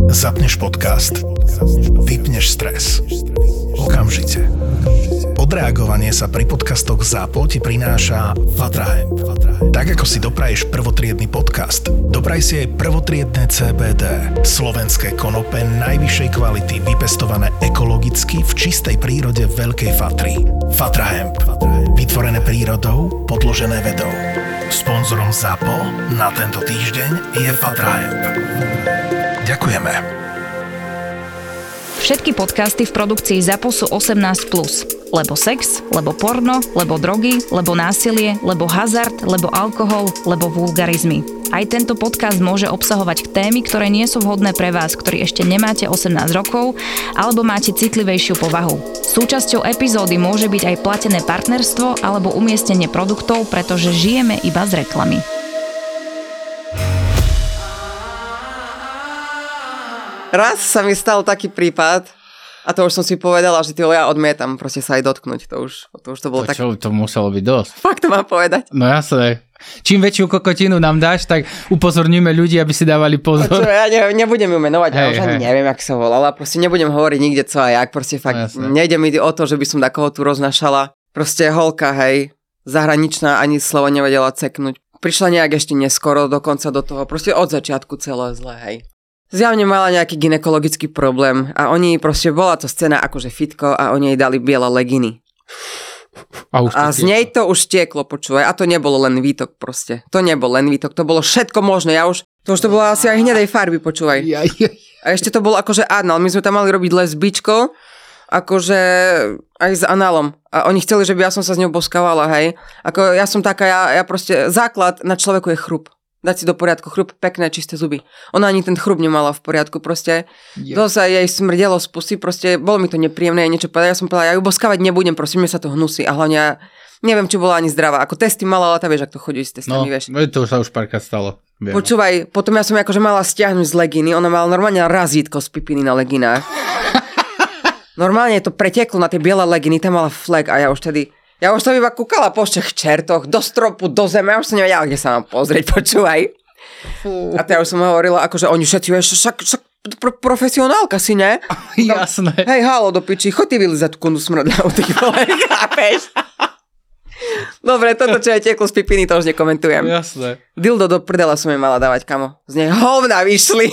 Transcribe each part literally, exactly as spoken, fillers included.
Zapneš podcast. Vypneš stres. Okamžite. Odreagovanie sa pri podcastoch ZAPO ti prináša Fatrahemp. Tak ako si dopraješ prvotriedny podcast, dopraj si aj prvotriedne cé bé dé. Slovenské konope najvyššej kvality, vypestované ekologicky v čistej prírode Veľkej Fatry. Fatrahemp. Vytvorené prírodou, podložené vedou. Sponzorom ZAPO na tento týždeň je Fatrahemp. Ďakujeme. Všetky podcasty v produkcii ZAPO sú osemnásť plus. Lebo sex, lebo porno, lebo drogy, lebo násilie, lebo hazard, lebo alkohol, lebo vulgarizmy. Aj tento podcast môže obsahovať témy, ktoré nie sú vhodné pre vás, ktorí ešte nemáte osemnásť rokov, alebo máte citlivejšiu povahu. Súčasťou epizódy môže byť aj platené partnerstvo alebo umiestnenie produktov, pretože žijeme iba z reklamy. Raz sa mi stal taký prípad, a to už som si povedala, že tyho ja odmietam proste sa aj dotknúť. To už to, už to bolo to, tak... Čo, to muselo byť dosť. Fakt to mám povedať. No jasné. Čím väčšiu kokotinu nám dáš, tak upozorníme ľudí, aby si dávali pozor. Čo, ja ne, nebudem ju menovať, hej, ja už ani hej. neviem, jak sa volala. Proste nebudem hovoriť nikde co a jak. Proste fakt no, nejde mi o to, že by som takoho tu roznašala. Proste holka, hej, zahraničná, ani slovo nevedela ceknúť. Prišla nejak ešte neskoro dokonca do toho. Proste od začiatku celé zle, hej. Zjavne mala nejaký gynekologický problém a oni proste, bola to scéna akože fitko a oni jej dali biele leginy. A, už a z nej to už tieklo, počúvaj. A to nebolo len výtok proste. To nebol len výtok, to bolo všetko možné. Ja už, to už to bolo asi aj hnedej farby, počúvaj. A ešte to bolo akože anal. My sme tam mali robiť lesbičko, akože aj s análom. A oni chceli, že by ja som sa s ňou boskávala, hej. Ako ja som taká, ja, ja proste, základ na človeku je chrup. Dať si do poriadku chrup, pekné, čisté zuby. Ona ani ten chrup nemala v poriadku, proste. Yeah. To sa jej smrdelo z pusy, proste bolo mi to nepríjemné, niečo povedať. Ja som povedala, ja ju boskávať nebudem, proste, mne sa to hnusí. A hlavne ja neviem, či bola ani zdravá. Ako testy mala, ale tá vieš, ak to chodí s testami, no, vieš. No, to sa už párkrát stalo. Viem. Počúvaj, potom ja som akože mala stiahnuť z legíny, ona mala normálne razítko z pipiny na leginách. Normálne to preteklo na tie biele leginy, tam mala flek a ja už tedy... Ja už som iba kúkala po všech čertoch, do stropu, do zeme, ja už som nevedela, kde sa mám pozrieť, počúvaj. Fú. A teda už som hovorila, akože oni všetci, vieš, však, však pro, profesionálka si, ne? Jasné. Hej, halo, do piči, choď ty vylizať tú kundu smradľavú, ty vole, chápeš? Dobre, toto, čo je tieklo z pipiny, to už nekomentujem. Jasné. Dildo do prdela som jej mala dávať, kamo. Z nej hovna vyšli.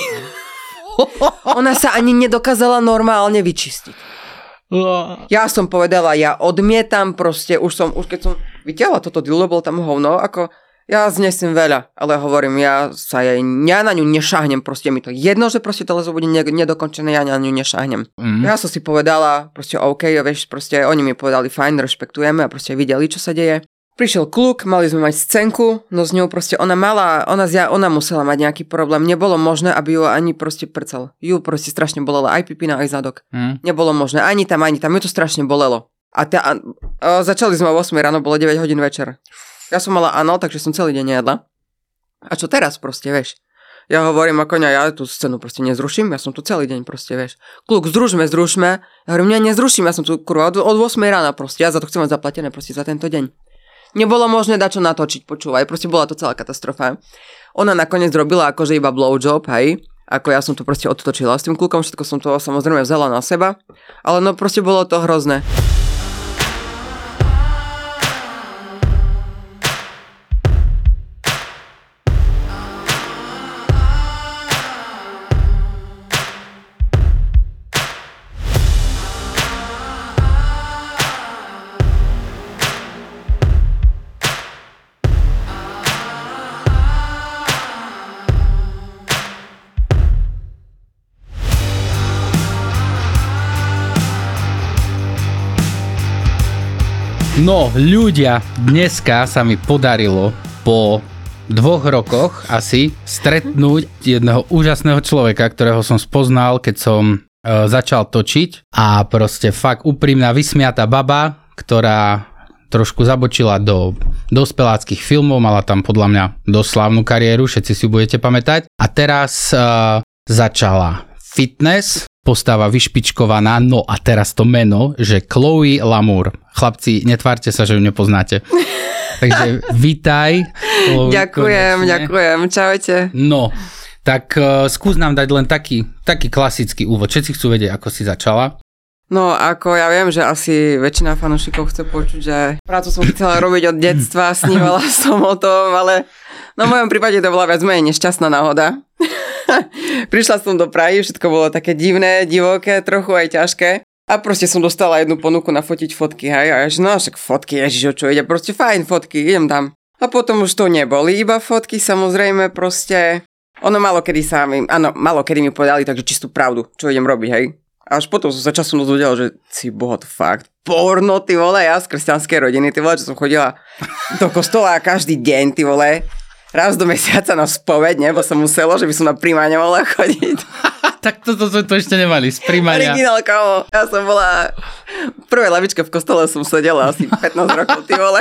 Ona sa ani nedokázala normálne vyčistiť. Ja som povedala, ja odmietam proste, už som, už keď som vytiahla toto dildo, bol tam hovno, ako ja znesím veľa, ale hovorím, ja sa jej, ja na ňu nešahnem, proste mi to jedno, že proste to lezo bude nedokončené, ja na ňu nešahnem. Mm. Ja som si povedala, proste OK, vieš, proste oni mi povedali fajn, rešpektujeme a proste videli, čo sa deje. Prišiel kluk, mali sme mať scénku, no s ňou proste ona mala, ona, zja, ona musela mať nejaký problém, nebolo možné, aby ju ani proste prcal. Ju proste strašne bolela aj pipina, aj zadok. Mm. Nebolo možné, ani tam, ani tam, ju to strašne bolelo. A, ta, a, a začali sme o ôsmej ráno, bolo deväť hodín večer. Ja som mala anal, takže som celý deň nejedla. A čo teraz proste, vieš? Ja hovorím ako ne, ja tú scénu proste nezruším, ja som tu celý deň proste, vieš. Kluk, združme, združme. Ja hovorím, ja nezruším, ja som tu kurva od, od ôsmej rána proste, ja za to chcem mať zaplatené proste za tento deň. Nebolo možné dať čo natočiť, počúvaj, proste bola to celá katastrofa. Ona nakoniec robila akože iba blowjob, hej, ako ja som to proste odtočila s tým klukom, všetko som to samozrejme vzala na seba, ale no proste bolo to hrozné. No, ľudia, dneska sa mi podarilo po dvoch rokoch asi stretnúť jedného úžasného človeka, ktorého som spoznal, keď som e, začal točiť a proste fakt úprimná, vysmiatá baba, ktorá trošku zabočila do dospeláckých filmov, mala tam podľa mňa dosť slávnu kariéru, všetci si budete pamätať. A teraz e, začala fitness, postava vyšpičkovaná, no a teraz to meno, že Chloe Lamour. Chlapci, netvárte sa, že ju nepoznáte. Takže vítaj. Ďakujem, konečne. ďakujem, čaute. No, Tak uh, skús nám dať len taký, taký klasický úvod. Všetci chcú vedieť, ako si začala. No, ako ja viem, že asi väčšina fanúšikov chce počuť, že prácu som chcela robiť od detstva, snívala som o tom, ale no v mojom prípade to bola viac menej nešťastná náhoda. Prišla som do Prahy, všetko bolo také divné, divoké, trochu aj ťažké. A proste som dostala jednu ponuku nafotiť fotky, hej, a ja že no však fotky, ježiš, o čo ide, proste fajn fotky, idem tam. A potom už to neboli iba fotky, samozrejme, proste, ono malo kedy sa mi, áno, malo kedy mi povedali takže čistú pravdu, čo idem robiť, hej. A až potom som sa časom dozvedel, že si boha to fakt, porno, ty vole, ja z kresťanskej rodiny, ty vole, čo som chodila do kostola každý deň, ty vole, raz do mesiaca na spoveď, nebo som musela, že by som na príjmanie mohla chodiť. Tak toto sme to ešte nemali, z príjmania. Originál, kámo. Ja som bola... V prvej lavičke v kostole som sedela asi pätnásť rokov, ty vole.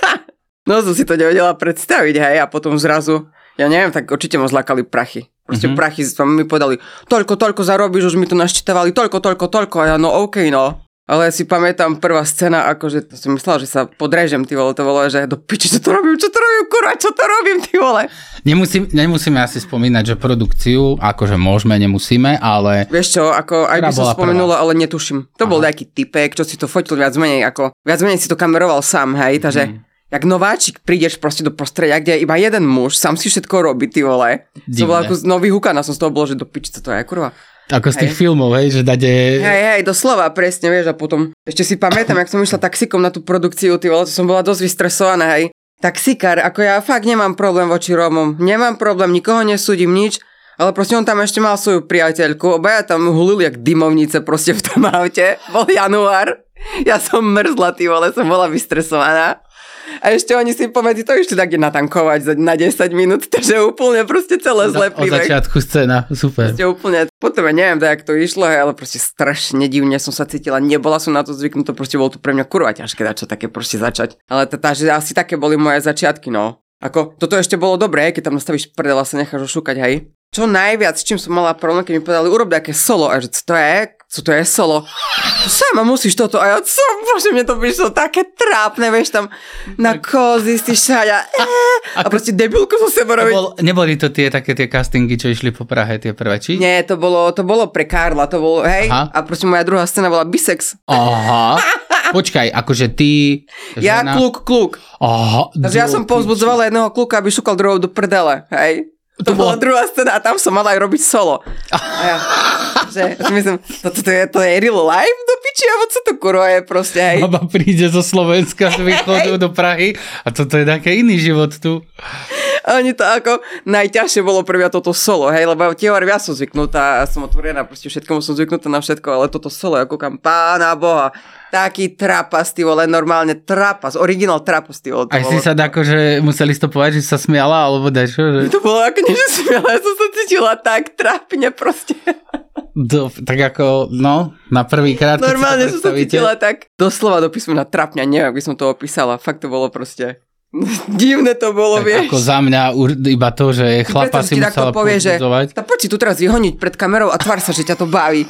No som si to nevedela predstaviť, hej, a potom zrazu, ja neviem, tak určite ma zlákali prachy. Proste mm-hmm. prachy mi povedali, toľko, toľko zarobíš, už mi to naštetávali, toľko, toľko, toľko, a ja, no okej, okay, no. Ale si pamätám prvá scéna, akože to som myslela, že sa podrežem, ty vole, to bolo, že do piči, čo to robím, čo to robím, kurva, čo to robím, ty vole. Nemusím, nemusíme asi spomínať, že produkciu, akože môžeme, nemusíme, ale... Vieš čo, ako aj by som spomenula, prvá. Ale netuším. To Aha. bol nejaký typek, čo si to fotil viac menej, ako viac menej si to kameroval sám, hej, takže mm. jak nováčik prídeš proste do prostredia, kde je iba jeden muž, sám si všetko robí, ty vole. To bolo ako nový hukaná, som z toho bolo, že do piči, co to je, kurva. Ako z tých hej. filmov, hej, že dade... Hej, hej, doslova, presne, vieš, a potom ešte si pamätám, jak som išla taxikom na tú produkciu, ty vole, to som bola dosť vystresovaná, hej. Taxikár, ako ja fakt nemám problém voči Rómom, nemám problém, nikoho nesúdim, nič, ale proste on tam ešte mal svoju priateľku, obaja tam hulili jak dymovnice proste v tom aute, bol január, ja som mrzla, ty vole, som bola vystresovaná. A ešte oni si pomedzi to išli tak natankovať na desať minút, takže úplne proste celé zlé príbeh. Od začiatku scéna, super. Proste úplne, potom ja neviem, jak to išlo, ale proste strašne divne som sa cítila, nebola som na to zvyknutá, proste bolo to pre mňa kurva ťažké dať čo také proste začať. Ale tá, že asi také boli moje začiatky, no. Ako, toto ešte bolo dobré, keď tam nastavíš prdel a sa necháš ošúkať, hej. Čo najviac, s čím som mala problém, keď mi povedali, urob nejaké solo, a že co to je? Co to je solo? To sama musíš toto, a ja, co? Bože, mne to prišlo také trápne, vieš, tam na kozy si šáďa, a proste debilku so sebou robiť. Bol, neboli to tie také tie castingy, čo išli po Prahe, tie prvé, či? Nie, to bolo, to bolo pre Karla, to bolo, hej, Aha. a proste moja druhá scéna bola bisex. Aha. Počkaj, akože ty... Ja, žena... kluk, kluk. Aha. Takže ja som povzbudzovala jedného kluka, aby šúkal druhou do prdele, hej. To, to bola bolo... druhá scéna a tam som mala aj robiť solo. A ja, že, ja si myslím, to, to, to, je, to je real life do piči, alebo co to kurva je proste, hej. Baba príde zo Slovenska z východu do Prahy a toto je taký iný život tu. A oni to ako, najťažšie bolo pre mňa toto solo, hej, lebo teóri ja som zvyknutá, ja som otvorená, proste všetkomu som zvyknutá na všetko, ale toto solo, ako kam pána boha. Taký trapas, ty vole, normálne trapas, originál trapas, ty vole. Aj si sa akože museli stopovať, že sa smiala, alebo dačo, že... To bolo ako nie, že smiala, ja som sa cítila tak trápne proste. Do, tak ako, no, na prvý krát, normálne som sa cítila tak, doslova do písmena trápňa, neviem, ak by som to opísala, fakt to bolo proste... Divné to bolo, tak vieš. Ako za mňa iba to, že chlapa si musela povzbudzovať. Tak poď si tu teraz vyhoniť pred kamerou a tvár sa, že ťa to baví.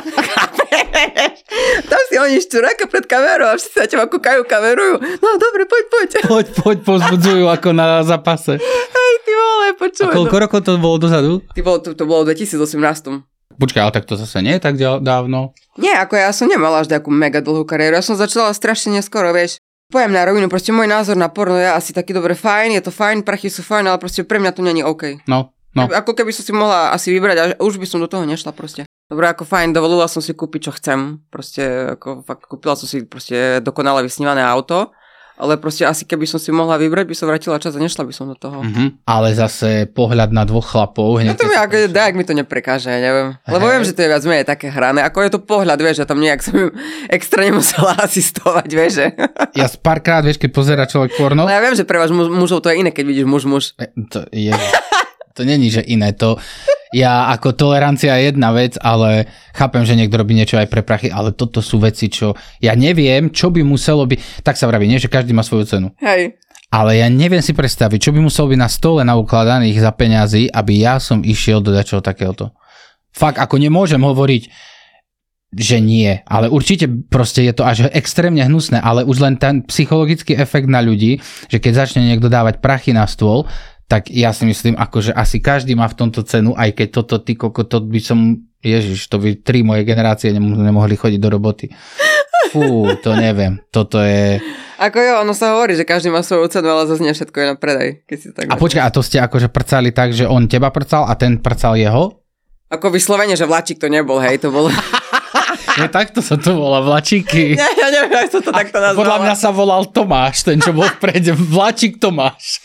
Tam si honíš čuráka pred kamerou a všetci sa teba kúkajú, kamerujú. No dobre, poď, poď. Poď, poď, povzbudzujú ako na zápase. Hej, ty vole, počuj. A koľko no. rokov to bolo dozadu? Ty bolo, to, to bolo v dvetisícosemnásť. Počkaj, ale tak to zase nie je tak dávno. Nie, ako ja som nemala až takú mega dlhú kariéru. Ja som začala strašne neskoro, vieš. Poviem na rovinu, proste môj názor na porno je asi taký dobre fajn, je to fajn, prachy sú fajn, ale proste pre mňa to nie je OK. No, no. Ako keby som si mohla asi vybrať a už by som do toho nešla proste. Dobre, ako fajn, dovolila som si kúpiť, čo chcem. Proste, ako fakt, kúpila som si proste dokonale vysnívané auto. Ale proste asi keby som si mohla vybrať, by som vrátila čas a nešla by som do toho. Mm-hmm. Ale zase pohľad na dvoch chlapov. No to mi ako, dajak mi to neprekáže, neviem. Lebo viem, že to je viac menej také hrané. Ako je to pohľad, vieš, že tam nejak som extra nemusela asistovať, vieš, že. Ja párkrát, vieš, keď pozerá človek porno. No ja viem, že pre vás mužov to je iné, keď vidíš muž-muž. To je... To není, že iné. To... Ja ako tolerancia je jedna vec, ale chápem, že niekto robí niečo aj pre prachy, ale toto sú veci, čo ja neviem, čo by muselo byť. Tak sa vraví, nie, že každý má svoju cenu. Hej. Ale ja neviem si predstaviť, čo by muselo byť na stole naukladaných za peňazí, aby ja som išiel do dačoho takéhoto. Fakt, ako nemôžem hovoriť, že nie, ale určite proste je to až extrémne hnusné, ale už len ten psychologický efekt na ľudí, že keď začne niekto dávať prachy na stôl, tak ja si myslím, akože asi každý má v tomto cenu, aj keď toto, ty koko, to by som, ježiš, to by tri moje generácie nemohli chodiť do roboty. Fú, to neviem, toto je... Ako jo, ono sa hovorí, že každý má svoju cenu, ale zase nie všetko je na predaj. Keď si tak a počkaj, a to ste akože prcali tak, že on teba prcal a ten prcal jeho? Ako vyslovene, že vláčik to nebol, hej, to bolo... No takto sa to volá, vlačíky. Ja, ja neviem, ako to takto nazvala. Podľa mňa sa volal Tomáš, ten, čo bol vprede, vlačík Tomáš.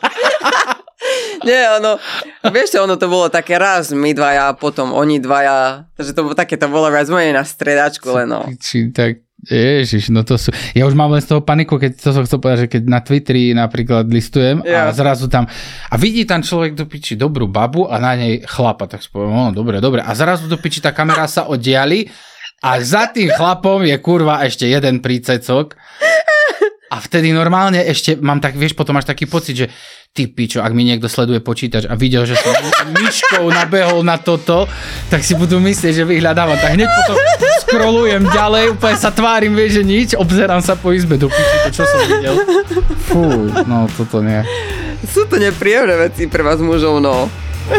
Nie, ono, vieš čo, ono to bolo také raz, my dvaja, potom oni dvaja, takže to bolo také, to bolo viac menej na stredačku, len no. Či tak, ježiš, no to sú, ja už mám len z toho paniku, keď to som chcel povedať, že keď na Twitteri napríklad listujem ja. A zrazu tam, a vidí tam človek do piči dobrú babu a na nej chlapa, tak si poviem, no dobre, dobre, a zrazu do piči tá kamera sa oddiali a za tým chlapom je kurva ešte jeden prícecok a vtedy normálne ešte mám tak, vieš, potom máš taký pocit, že ty pičo, ak mi niekto sleduje počítač a videl, že som myškou nabehol na toto, tak si budú myslieť, že vyhľadávam. Tak hneď potom scrollujem ďalej, úplne sa tvárim, vieš, že nič, obzerám sa po izbe, do piči, to čo som videl. Fú, no toto nie. Sú to nepríjemné veci pre vás mužov, no.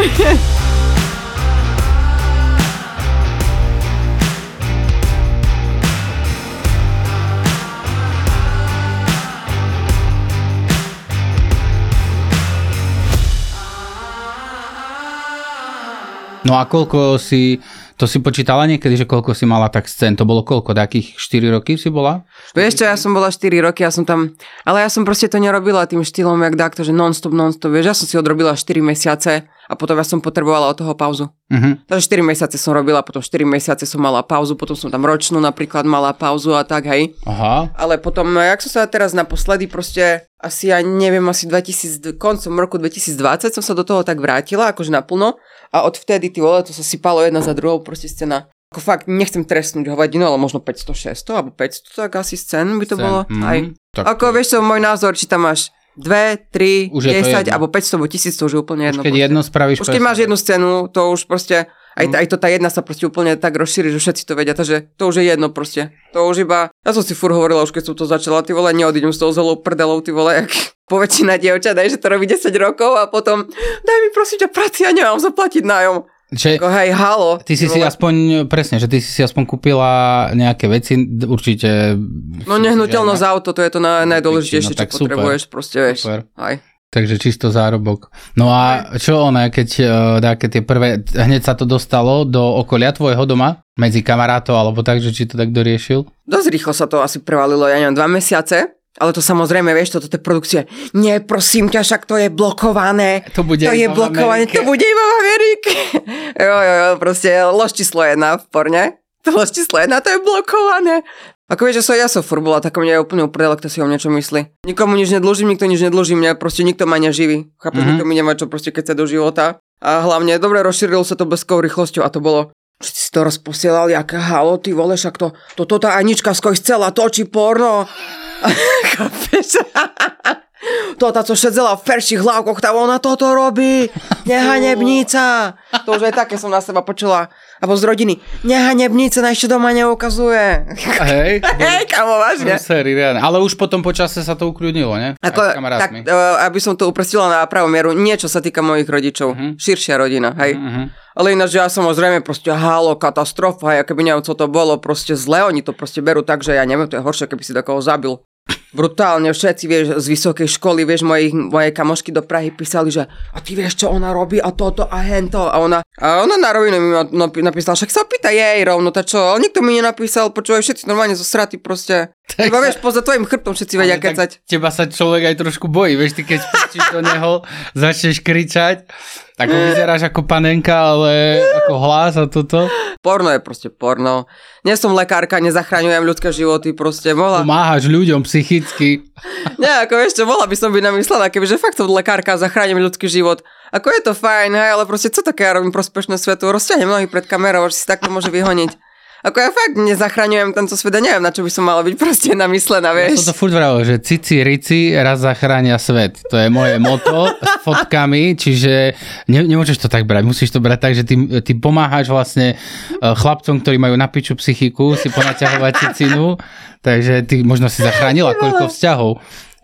No a koľko si, to si počítala niekedy, že koľko si mala tak scén? To bolo koľko? Takých štyri roky si bola? Vieš čo, ja som bola štyri roky, ja som tam, ale ja som proste to nerobila tým štýlom, jak takto, že non-stop, non-stop, vieš, ja som si odrobila štyri mesiace a potom ja som potrebovala od toho pauzu. Uh-huh. Takže štyri mesiace som robila, potom štyri mesiace som mala pauzu, potom som tam ročnú napríklad mala pauzu a tak, hej. Aha. Ale potom, jak som sa teraz naposledy proste, asi ja neviem, asi dvetisíc, koncom roku dvetisícdvadsať som sa do toho tak vrátila, akože naplno. A odvtedy, ty vole, to sa sypalo jedna za druhou, proste scéna. Ako fakt, nechcem trestnúť hovadinu, ale možno päťsto šesťsto, alebo päťsto, tak asi scén by to scén. Bolo. Mm, aj. Tak... Ako, vieš čo, môj názor, či tam máš dve, tri, desať, alebo päťsto, alebo tisíc, to už je úplne jedno. Už keď proste. Jedno spravíš... Už keď máš jednu scénu, to už proste... Aj, mm. aj to tá jedna sa proste úplne tak rozšíri, že všetci to vedia, takže to už je jedno proste. To už iba... Ja som si furt hovorila, už keď som to začala, ty vole, neodídem s tou zelou prdelou, ty vole, jak poväčšina dievčat, daj, že to robí desať rokov a potom daj mi prosím ťa práci, ja nemám zaplatiť nájom. Že, Ko, hej, halo. Ty si si aspoň, presne, že ty si si aspoň kúpila nejaké veci, určite... No nehnuteľnosť za auto, to je to na, najdôležitejšie, no, čo super, potrebuješ, proste, vieš. Super. Aj. Takže čisto zárobok. No a čo ona, keď také tie prvé, hneď sa to dostalo do okolia tvojho doma? Medzi kamarátov, alebo tak, že či to tak doriešil? Dosť rýchlo sa to asi prevalilo, ja neviem, dva mesiace. Ale to samozrejme, vieš, toto je produkcie. Nie, prosím ťa, však to je blokované. To bude to je blokované, to bude iba v Amerike. Jo, jo, jo, proste lož číslo jedna v porne. To lož číslo jedna, to je blokované. Ako vieš, že som ja som furt bola, tak mne je úplne uprdele, kto si o niečo myslí. Nikomu nič nedlúžim, nikto nič nedlúžim, mňa proste nikto ma neživí. Chápeš, mm-hmm. Nikto mi nemá čo proste keď sa do života. A hlavne, dobre, rozšírilo sa to bleskovou rýchlosťou a to bolo... Všetci si to rozposielali, aké halo, ty vole, však to, toto tá Anička skoj chcela točí porno. Chápeš? To tá, co šedzela v perších hlavkoch, tá ona toto robí. Nehanebnica. To už aj také som na seba počula. Abo z rodiny. Nehanebnica, na ešte doma neukazuje. Hej. Hej, kamo, vážne. Ale už potom počase sa to ukľudnilo, ne? Ako, tak, aby som to uprestila na pravú mieru, niečo sa týka mojich rodičov. Uh-huh. Širšia rodina, hej. Uh-huh. Ale ináč, ja samozrejme proste halo, katastrofa, hej, keby neviem, co to bolo, proste zle, oni to proste berú tak, že ja neviem, to je horšie, keby si takoho zabil. Brutálne, všetci, vieš, z vysokej školy, vieš, mojich, moje kamošky do Prahy písali, že a ty vieš, čo ona robí a toto a hento. A ona, a ona na rovinu mi napísala, však sa opýta jej rovno, tá čo, ale nikto mi nenapísal, počúvaj, všetci normálne zo straty proste. Tak iba, vieš, poza tvojim chrbtom všetci vedia kecať. Teba sa človek aj trošku bojí, vieš, ty keď spustíš do neho, začneš kričať, tak vyzeráš ako panenka, ale ako hlas a toto. Porno je proste porno. Nie som lekárka, nezachraňujem ľudské životy, proste mohla... Pomáhaš ľuďom psychicky. Nie, ako ešte mohla by som byť namyslená, kebyže fakt som lekárka a zachránim ľudský život. Ako je to fajn, hej, ale proste co také ja robím prospešné svetu? Rozťahnem nohy pred kamerou, že si takto môže vyhoniť. Ako ja fakt nezachraňujem tento svet a neviem, na čo by som mala byť proste namyslená, vieš. Ja som to furt vravil, že cici, rici, raz zachránia svet. To je moje moto s fotkami, čiže ne, nemôžeš to tak brať. Musíš to brať tak, že ty, ty pomáhaš vlastne chlapcom, ktorí majú na piču psychiku, si ponaťahovať cicinu, takže ty možno si zachránila koľko vzťahov.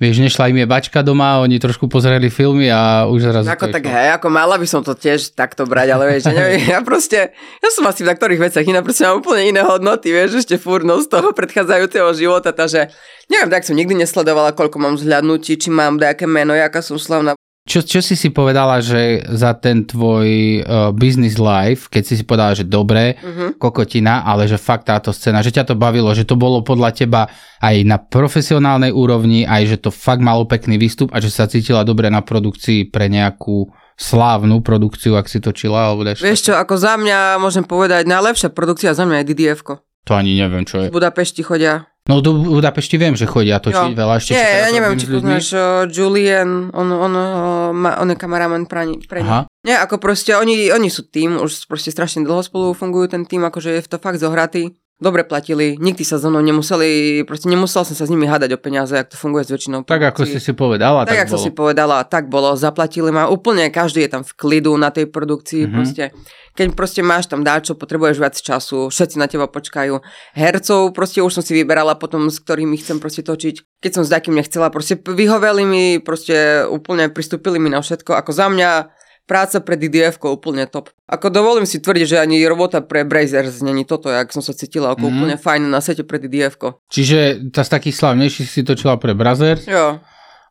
Vieš, nešla im je bačka doma, oni trošku pozreli filmy a už zrazu ako tak hej, ako mala by som to tiež takto brať, ale vieš, ja neviem, ja proste, ja som asi v niektorých veciach iná, proste mám úplne iné hodnoty, vieš, ešte furt no z toho predchádzajúceho života, takže neviem, tak som nikdy nesledovala, koľko mám zhľadnutí, či mám nejaké meno, jaká som slavná. Čo, čo si si povedala, že za ten tvoj uh, business life, keď si si povedala, že dobre, uh-huh. kokotina, ale že fakt táto scéna, že ťa to bavilo, že to bolo podľa teba aj na profesionálnej úrovni, aj že to fakt malo pekný výstup a že sa cítila dobre na produkcii pre nejakú slávnu produkciu, ak si točila, alebo daš. Vieš čo, ako za mňa môžem povedať, najlepšia produkcia za mňa je dé dé efko. To ani neviem, čo je. V Budapešti chodia. No do Budapešti viem, že chodia točiť jo. veľa. Ešte Nie, ja neviem, či poznáš uh, Julian, on, on, uh, ma, on je kameraman pre ni. Nie, ako proste, oni, oni sú tým, už proste strašne dlho spolu fungujú ten tým, akože je to fakt zohratý. Dobre platili, nikdy sa so mnou nemuseli, proste nemusel som sa s nimi hádať o peniaze, jak to funguje s väčšinou. Tak ako si si povedala, tak, tak bolo. Tak ako si povedala, tak bolo, zaplatili ma úplne, každý je tam v klidu na tej produkcii, mm-hmm. proste. Keď proste máš tam dáčo, potrebuješ viac času, všetci na teba počkajú. Hercov proste už som si vyberala potom, s ktorými chcem proste točiť. Keď som s takým nechcela, proste vyhoveli mi, proste úplne pristúpili mi na všetko. Ako za mňa práca pre dé dé efko úplne top. Ako dovolím si tvrdiť, že ani robota pre Brazers není toto, jak som sa cítila, ako mm. úplne fajn na sete pre dé dé efko. Čiže tá z takých slavnejších si točila pre Brazers? Jo.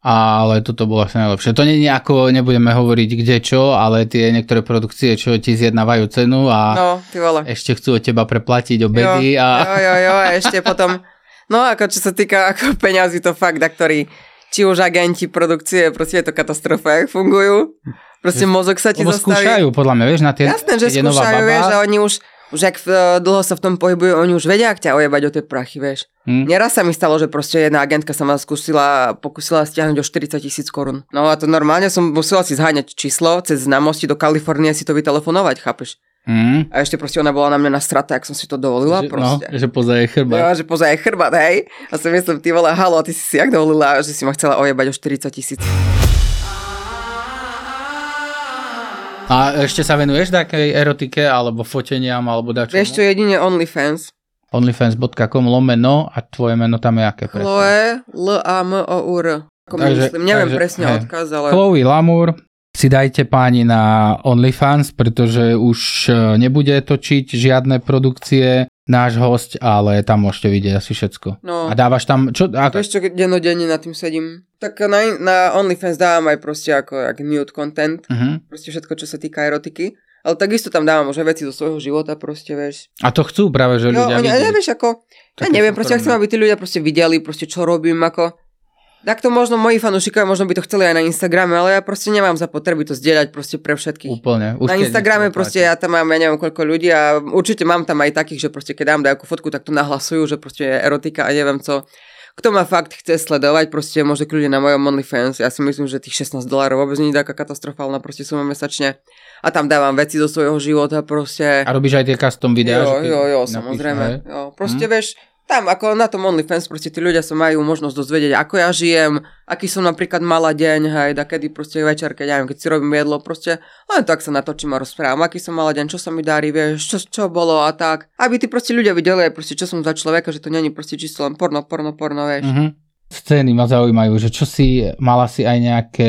Ale toto bolo asi najlepšie. To nie je nejako, nebudeme hovoriť kde čo, ale tie niektoré produkcie, čo ti zjednávajú cenu a no, ty vole. Ešte chcú od teba preplatiť obedy. Jo, a... jo, jo, jo, a ešte potom, no ako čo sa týka ako peňazí, to fakt, na ktorý, či už agenti produkcie, proste je to katastrofa, jak fungujú. Proste mozog sa ti Lebo zastaví. skúšajú, podľa mňa, vieš, na tie... Jasné, že skúšajú, vieš, a oni už, už ak dlho sa v tom pohybujú, oni už vedia, ak ťa ojebať o tie prachy, vieš. Hmm. Neraz sa mi stalo, že proste jedna agentka sa ma skúsila, pokusila stiahnuť o štyridsať tisíc korún. No a to normálne som musela si zháňať číslo, cez známosti do Kalifornie si to vytelefonovať, chápeš? Hmm. A ešte proste ona bola na mňa nastrata, ak som si to dovolila, že, proste. No, že poza jej chrbát. Jo, že poza jej chrbát, hej. A som myslím, ty vole, halo, ty si si jak dovolila, že si ma chcela ojebať o štyridsať tisíc. A ešte sa venuješ takej erotike, alebo foteniam, alebo dačomu? Vieš čo, jedine OnlyFans. onlyfans bodka com lomeno a tvoje meno tam je aké presne? Chloe, L A M O U R. Ako takže, myslím, neviem takže, presne hej. odkaz, ale... Chloe Lamour, si dajte páni na OnlyFans, pretože už nebude točiť žiadne produkcie náš host, ale tam môžete vidieť asi všetko. No. A dávaš tam... Čo, ako... Vieš čo, dennodenne nad tým sedím. Tak na, na OnlyFans dávam aj proste ako jak nude content. Uh-huh. Proste všetko, čo sa týka erotiky. Ale takisto tam dávam už veci do svojho života, proste, vieš. A to chcú práve, že ľudia vidieť. Jo, nevieš, ako... Ja neviem, proste ja chcem, aby tí ľudia proste videli, proste čo robím, ako... Tak to možno moji fanúšikovia možno by to chceli aj na Instagrame, ale ja proste nemám za potreby to zdieľať proste pre všetkých. Úplne. Už na Instagrame proste ja tam mám, ja neviem koľko ľudí a určite mám tam aj takých, že proste keď dám nejakú fotku, tak to nahlasujú, že proste je erotika a neviem co. Kto ma fakt chce sledovať, proste môže kľudne na mojom OnlyFans. Ja si myslím, že tých šestnásť dolárov vôbec nie je taká katastrofálna proste suma mesačne. A tam dávam veci do svojho života proste. A robíš aj tie custom videá? Jo, jo, jo, samozrejme. Jo, proste hmm. vieš, tam ako na tom OnlyFans proste tí ľudia sa majú možnosť dozvedieť, ako ja žijem, aký som napríklad mala deň, hej, da kedy proste večer, keď ja neviem, keď si robím jedlo, proste len tak sa natočím a rozprávam, aký som mala deň, čo sa mi darí, vieš, čo, čo bolo a tak. Aby tí proste ľudia videli aj proste, čo som za človeka, že to není proste čisto len porno, porno, porno, vieš. Mm-hmm. Scény ma zaujímajú, že čo si, mala si aj nejaké,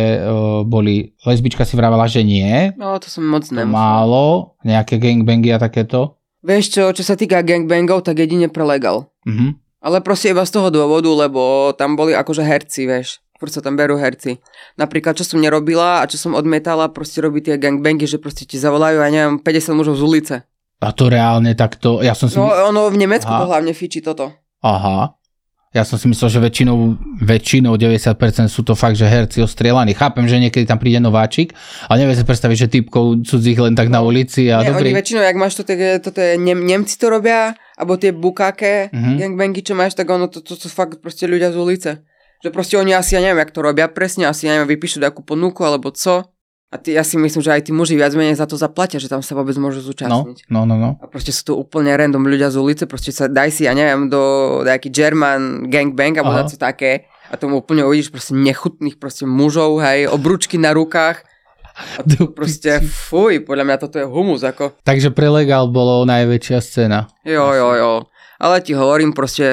o, boli, lesbička si vravala, že nie. No, to som moc nemusel. Málo, nejaké gangbangy a takéto. Vieš čo, čo sa týka gangbangov, tak jedine pre legal. Mm-hmm. Ale proste iba z toho dôvodu, lebo tam boli akože herci, vieš. Furt sa tam berú herci. Napríklad, čo som nerobila a čo som odmietala, proste robiť tie gangbangy, že proste ti zavolajú, ja neviem, päťdesiat mužov z ulice. A to reálne takto, ja som si... No, ono v Nemecku to hlavne fičí toto. Aha. Ja som si myslel, že väčšinou, väčšinou deväťdesiat percent sú to fakt, že herci ostrielaní. Chápem, že niekedy tam príde nováčik, ale neviem si predstaviť, že typkov cudzích len tak na ulici a nie, dobrý. Oni väčšinou, jak máš to, toto je, Nem, Nemci to robia, alebo tie bukáke, mm-hmm. gangbangy, čo máš, tak ono, to, to, to sú fakt proste ľudia z ulice. Že proste oni asi, ja neviem, jak to robia presne, asi, ja neviem, vypíšu nejakú ponuku, alebo co. A ty, ja si myslím, že aj tí muži viac menej za to zaplatia, že tam sa vôbec môžu zúčastniť. No, no, no, no. A proste sú to úplne random ľudia z ulice, proste sa daj si, ja neviem, do nejaký German gangbang, alebo daco také. A tomu úplne uvidíš proste nechutných proste mužov, hej, obručky na rukách. A to proste, fuj, podľa mňa toto je humus, ako. Takže pre legal bolo najväčšia scéna. Jo, jo, jo. Ale ti hovorím proste,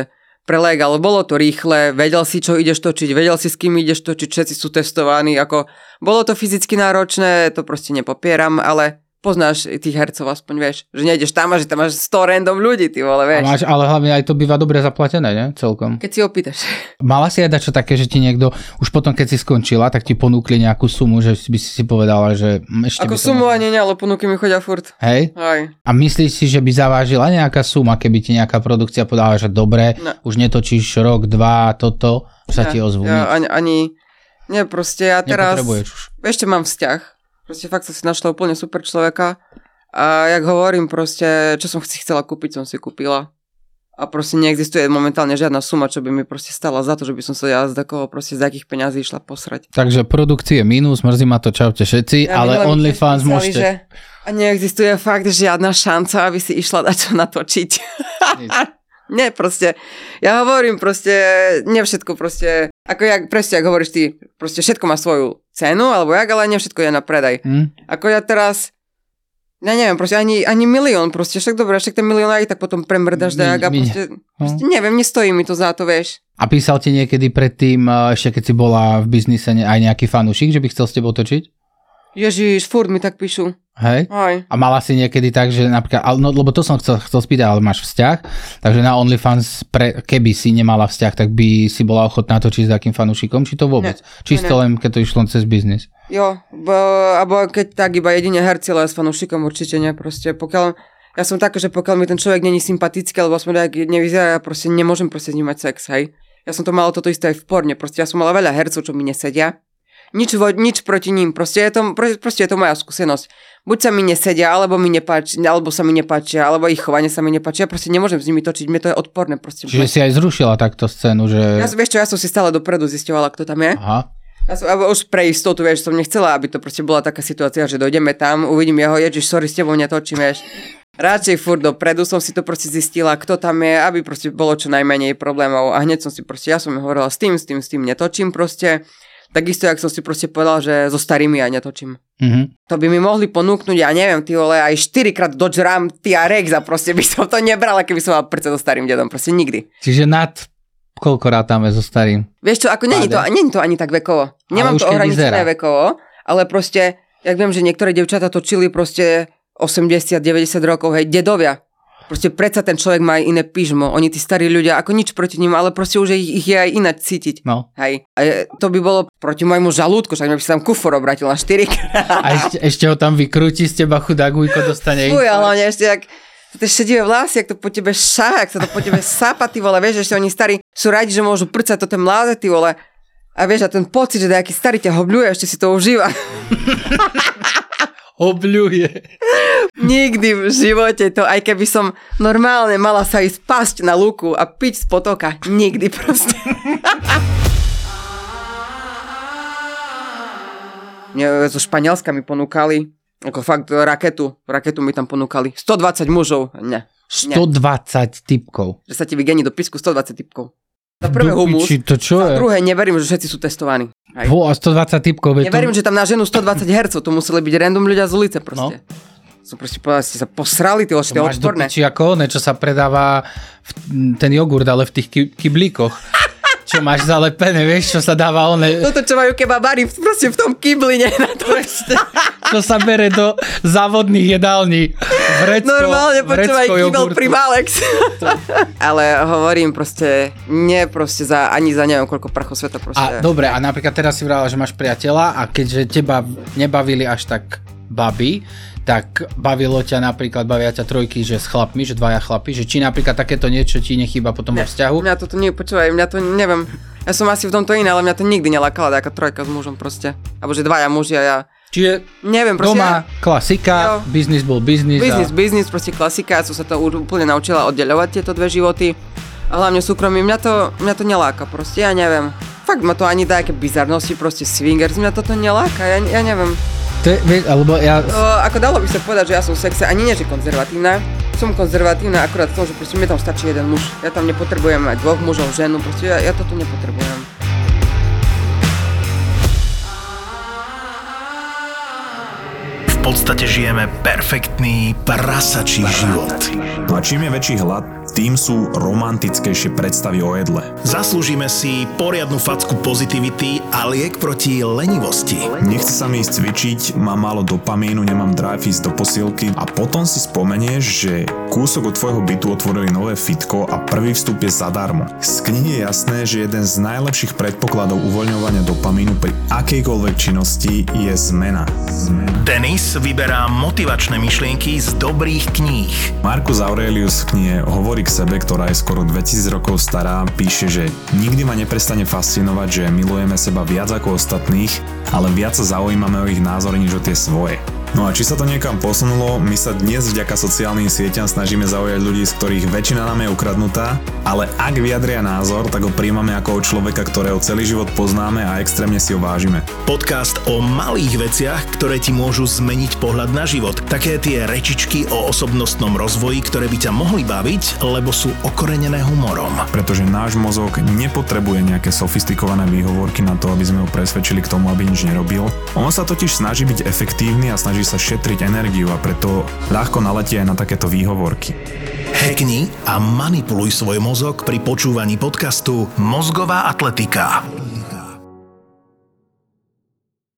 prelek, ale bolo to rýchle, vedel si, čo ideš točiť, vedel si, s kým ideš točiť, všetci sú testovaní, ako bolo to fyzicky náročné, to proste nepopieram, ale poznáš tých hercov aspoň, vieš, že nejdeš tam a že tam máš sto random ľudí, ty vole, vieš. Máš, ale hlavne aj to býva dobre zaplatené, ne? Celkom. Keď si opýtaš. Mala si aj dačo také, že ti niekto, už potom keď si skončila, tak ti ponúkli nejakú sumu, že by si si povedala, že ešte ako by to sumu mohlo... ani ne, ale ponuky mi chodia furt. Hej? Aj. A myslíš si, že by zavážila nejaká suma, keby ti nejaká produkcia podala, že dobre, no. už netočíš rok, dva, toto, sa ja, ti ozvú? Ja, ani, ani, nie, proste ja teraz, už. ešte mám vzťah, proste fakt som si našla úplne super človeka. A jak hovorím, proste, čo som si chcela kúpiť, som si kúpila. A proste neexistuje momentálne žiadna suma, čo by mi proste stala za to, že by som sa ja z takého proste z akých peňazí išla posrať. Takže produkcie minus, mrzí ma to, čaute všetci, ja, ale OnlyFans môžete. Že, a neexistuje fakt žiadna šanca, aby si išla dačo natočiť. Nie, proste, ja hovorím proste, nie všetko proste, ako jak, presne, ako hovoríš ty, proste všetko má svoju cenu, alebo jak, ale nie všetko je na predaj. Hmm. Ako ja teraz, ja neviem, proste ani, ani milión, proste však dobré, však ten milión aj tak potom premrdaš dajak a proste, proste neviem, nestojí mi to za to, vieš. A písal ti niekedy predtým, ešte keď si bola v biznise, aj nejaký fanúšik, že by chcel s tebou točiť? Ježiš, furt mi tak píšu. Hej? Aj. A mala si niekedy tak, že napríklad, no, lebo to som chcel, chcel spýtať, ale máš vzťah, takže na OnlyFans, pre, keby si nemala vzťah, tak by si bola ochotná točiť s takým fanúšikom, či to vôbec? Ne, Čisto ne. Len, keď to išlo cez biznis? Jo, bo, alebo keď tak iba jedine herci, ale s fanúšikom určite nie, proste pokiaľ, ja som taká, že pokiaľ mi ten človek není sympatický, alebo aspoň tak nevyzerá, ja proste nemôžem proste s ním mať sex, hej. Ja som to mala toto isté aj v porne, proste ja som mala veľa hercov, čo mi nesedia. Nič, nič proti ním, proste je, to, proste je to moja skúsenosť. Buď sa mi nesedia, alebo mi nepáči, alebo sa mi nepáčia, alebo ich chovanie sa mi nepáči. Ja proste nemôžem s nimi točiť, mne to je odporné. Proste. Čiže si aj zrušila takto scénu, že... Ja, vieš čo, ja som si stále dopredu zisťovala, kto tam je. Aha. Ja som, už pre istotu, vieš, som nechcela, aby to proste bola taká situácia, že dojdeme tam, uvidím jeho, ježiš, sorry, s tebou netočím, vieš. Radšej furt dopredu som si to proste zistila, kto tam je, aby proste bolo čo najmenej problémov. A hneď som si proste, ja som hovorila s tým, s tým, s tým netočím proste. Takisto, jak som si proste povedal, že so starými ja netočím. Mm-hmm. To by mi mohli ponúknuť, ja neviem, ty vole, aj štyrikrát Dodge Ram, ty a Rex a proste by som to nebrala, keby som mal prce so starým dedom, proste nikdy. Čiže nad koľko rátame so starým? Vieš čo, ako není to, není to ani tak vekovo. Nemám to ohraničené vekovo, ale proste, jak viem, že niektoré devčatá točili proste osemdesiat deväťdesiat rokov, hej, dedovia. Proste predsa ten človek má aj iné pyžmo. Oni tí starí ľudia, ako nič proti nim, ale proste už ich, ich je aj ináč cítiť. No. Hej. A je, to by bolo proti môjmu žalúdku, však by sa tam kufor obratil na štyrikrát. A ešte, ešte ho tam vykrúti z teba, chudák Ujko dostane. Fuj, ale ešte jak tie šedivé vlasy, jak to po tebe šá, jak sa to po tebe sápa, ty vole, vieš, ešte oni starí sú radi, že môžu prcať to ten mladé, ty vole. A vieš, a ten pocit, že nejaký starý ťa hobľuje, ešte si to užíva. Obľuje. Nikdy v živote to, aj keby som normálne mala sa ísť pasť na lúku a piť z potoka. Nikdy proste. Mne zo Španielska mi ponúkali, ako fakt raketu, raketu mi tam ponúkali. stodvadsať mužov. Ne. stodvadsať typkov. Že sa ti vygení do písku stodvadsať typkov. Za prvé humus, to čo za je? druhé neverím, že všetci sú testovaní. Vo, a stodvadsať typkov. Neverím, to... že tam na ženu stodvadsať hercov, to museli byť random ľudia z ulice proste. No. Som proste povedal, ste sa posrali, ty ošte odporné. Máš do piči ako one, čo sa predáva v, ten jogurt, ale v tých ky- kyblíkoch. Čo máš zalepené, vieš, čo sa dáva one... Toto, čo majú kebabári proste v tom kybline. Na to. Čo sa bere do závodných jedální. Vrecko, normálne počúvaj kybel pri Malex. Ale hovorím proste, nie proste za, ani za neviem koľko prachov sveta proste. A dobre, a napríklad teraz si vrala, že máš priateľa a keďže teba nebavili až tak baby, tak bavilo ťa napríklad, bavia ťa trojky, že s chlapmi, že dvaja chlapi, že či napríklad takéto niečo ti nechýba potom vo vzťahu? Mňa toto nie, počúvaj, mňa to neviem, ja som asi v tomto iné, ale mňa to nikdy nelákala taká trojka s mužom proste, alebo že dvaja muži a ja. Čiže neviem, proste, doma klasika, jo, biznis bol biznis. Biznis, a... biznis, proste klasika, ja som sa to úplne naučila oddeľovať tieto dve životy a hlavne súkromie, mňa to, mňa to neláka proste, ja neviem. Fakt ma to ani dá aké bizarnosti, proste swingers, mňa toto neláka, ja, ja neviem. To je, vieš, alebo ja... O, ako dalo by sa povedať, že ja som v sexe, ani nie, že konzervatívna. Som konzervatívna akurát v tom, že proste mne tam stačí jeden muž. Ja tam nepotrebujem mať dvoch mužov, ženu, proste ja, ja toto nepotrebujem. V podstate žijeme perfektný prasačí život. No a čím je väčší hlad, tým sú romantickejšie predstavy o jedle. Zaslúžime si poriadnu facku pozitivity a liek proti lenivosti. Nechce sa mi ísť cvičiť, mám málo dopamínu, nemám drive ísť do posilky a potom si spomenieš, že kúsok od tvojho bytu otvorili nové fitko a prvý vstup je zadarmo. Z knihy je jasné, že jeden z najlepších predpokladov uvoľňovania dopamínu pri akejkoľvek činnosti je zmena. zmena. Denis vyberá motivačné myšlienky z dobrých kníh. Marcus Aurelius v knihe Hovorí k sebe, ktorá je skoro dvetisíc rokov stará, píše, že nikdy ma neprestane fascinovať, že milujeme seba viac ako ostatných, ale viac sa zaujímame o ich názory, než o tie svoje. No a či sa to niekam posunulo, my sa dnes vďaka sociálnym sieťam snažíme zaujať ľudí, z ktorých väčšina nám je ukradnutá, ale ak vyjadria názor, tak ho príjmame ako od človeka, ktorého celý život poznáme a extrémne si ho vážime. Podcast o malých veciach, ktoré ti môžu zmeniť pohľad na život. Také tie rečičky o osobnostnom rozvoji, ktoré by ťa mohli baviť, lebo sú okorenené humorom. Pretože náš mozog nepotrebuje nejaké sofistikované výhovorky na to, aby sme ho presvedčili k tomu, aby nič nerobil. On sa totiž snaží byť efektívny a snaží sa šetriť energiu a preto ľahko naletí aj na takéto výhovorky. Hackni a manipuluj svoj mozog pri počúvaní podcastu Mozgová atletika.